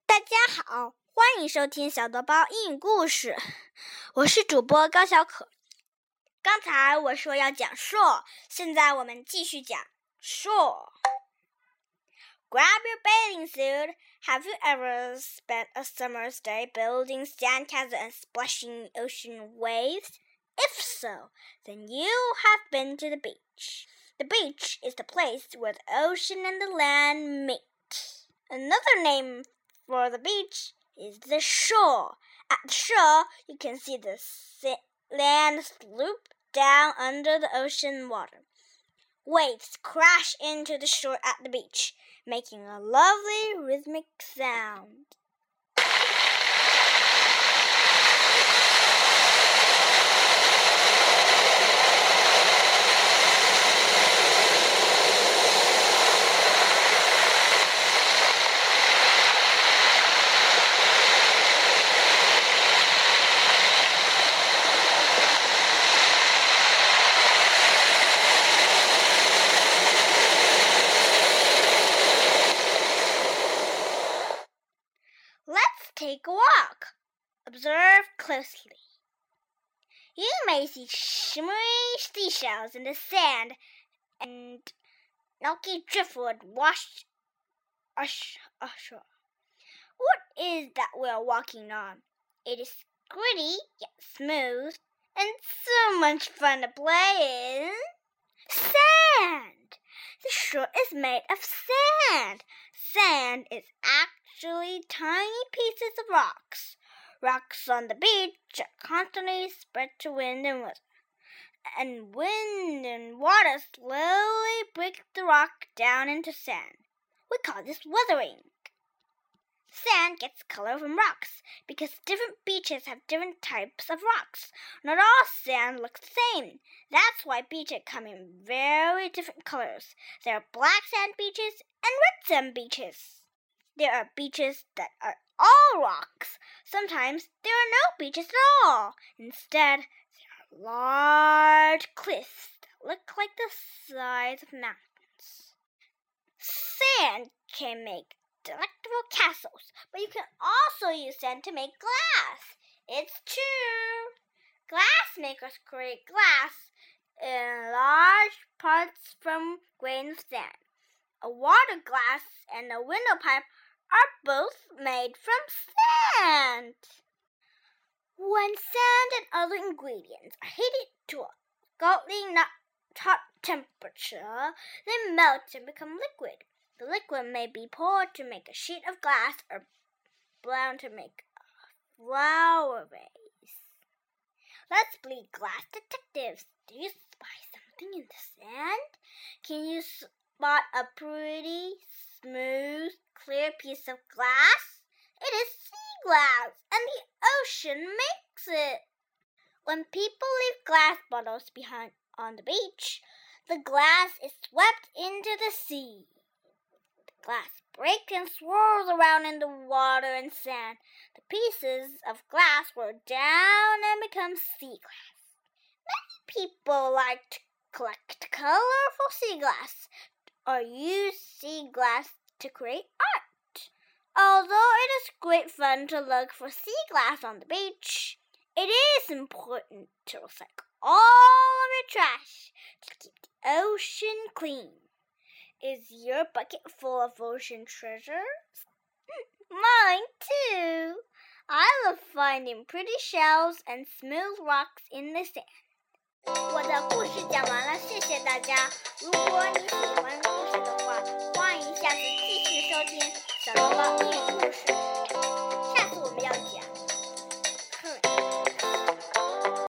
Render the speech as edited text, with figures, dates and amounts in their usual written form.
大家好，欢迎收听小豆包英语故事，我是主播高小可。刚才我说要讲 shore， 现在我们继续讲 shore。Grab your bathing suit. Have you ever spent a summer's day building sandcastles and splashing ocean waves? If so, then you have been to the beach. The beach is the place where the ocean and the land meet. Another name for the beach is the shore. At the shore, you can see the land slope down under the ocean water. Waves crash into the shore at the beach, making a lovely rhythmic sound. Let's take a walk. Observe closely. You may see shimmery seashells in the sand and milky driftwood washed ashore. What is that we're walking on? It is gritty yet smooth, and so much fun to play in. Sand! The shore is made of sand. Sand is actually tiny pieces of rocks. Rocks on the beach are constantly spread to wind and weather. And wind and water slowly break the rock down into sand. We call this weathering. Sand gets color from rocks because different beaches have different types of rocks. Not all sand looks the same. That's why beaches come in very different colors. There are black sand beaches and red sand beaches. There are beaches that are all rocks. Sometimes there are no beaches at all. Instead, there are large cliffs that look like the sides of mountains. Sand can make delectable castles, but you can also use sand to make glass. It's true. Glass makers create glass in large parts from grains of sand. A water glass and a window pipe are both made from sand. When sand and other ingredients are heated to a scalding hot temperature, they melt and become liquid. The liquid may be poured to make a sheet of glass or blown to make a flower vase. Let's be glass detectives. Do you spy something in the sand? Can you spot a pretty, smooth, clear piece of glass? It is sea glass, and the ocean makes it. When people leave glass bottles behind on the beach, the glass is swept into the sea. Glass breaks and swirls around in the water and sand. The pieces of glass roll down and become sea glass. Many people like to collect colorful sea glass or use sea glass to create art. Although it is great fun to look for sea glass on the beach, it is important to recycle all of your trash to keep the ocean clean. Is your bucket full of ocean treasures? Mine too. I love finding pretty shells and smooth rocks in the sand. 我的故事讲完了，谢谢大家。如果你喜欢